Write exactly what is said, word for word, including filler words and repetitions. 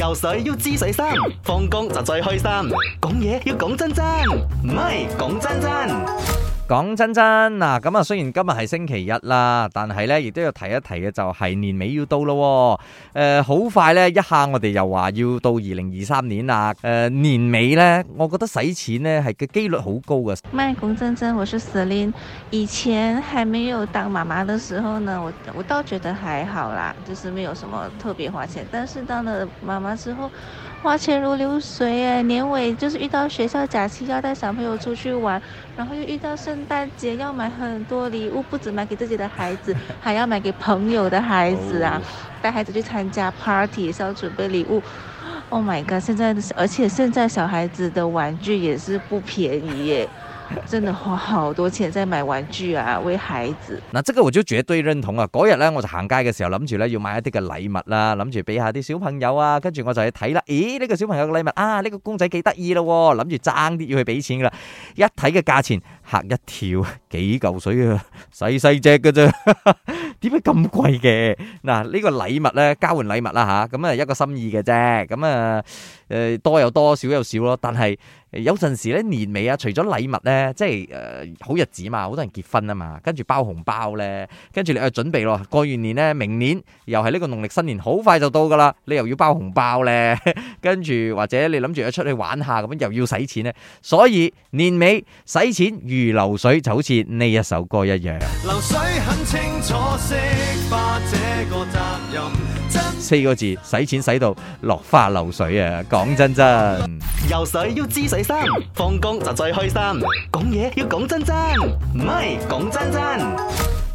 游水要知水深，放工就最開心。講嘢要講真真，唔係講真真。 講真真嗱，咁啊雖然今日係星期一啦，但係咧亦都要提一提嘅就係年尾要到咯。誒、呃，好快咧，一下我哋又話要到二零二三年啦。誒、呃，年尾咧，我覺得使錢咧係嘅機率好高嘅。 麥講真真，我是 Celine。以前還沒有當媽媽的時候呢，我我倒覺得還好啦，就是沒有什麼特別花錢。但是當了媽媽之後，花錢如流水誒，年尾就是遇到學校假期要帶小朋友出去玩，然後又遇到聖誕節要買很多禮物，不止買給自己的孩子，還要買給朋友的孩子啊，帶孩子去參加 party 也是要準備禮物。Oh my god！ 現在而且現在小孩子的玩具也是不便宜耶。真的花好多錢在買玩具啊，為孩子。 嗱，這個我就絕對認同啊！嗰日咧，我就行街嘅時候諗住咧要買一啲嘅禮物啦，諗住俾下啲小朋友啊，跟住我就去睇啦。咦，呢、這個小朋友嘅禮物啊，呢、這個公仔幾得意咯，諗住爭啲要去俾錢噶啦。一睇嘅價錢嚇一跳，幾嚿水啊，細細隻嘅啫。點解咁貴嘅？嗱，呢個禮物咧，交換禮物啦吓，咁啊一個心意嘅啫，咁啊誒多又多，少又少咯。但係有陣時咧年尾啊，除咗禮物咧，即係誒好日子嘛，好多人結婚啊嘛，跟住包紅包咧，跟住你去準備咯。過完年咧，明年又係呢個農曆新年，好快就到噶啦，你又要包紅包咧，跟住或者你諗住一出去玩下咁樣，又要使錢咧。所以年尾使錢如流水，就好似呢一首歌一樣。 流水很清楚。 四個字，使錢使到落花流水啊！講真真， 游水要知水深，放工就最開心。講嘢要講真真，唔係講真真。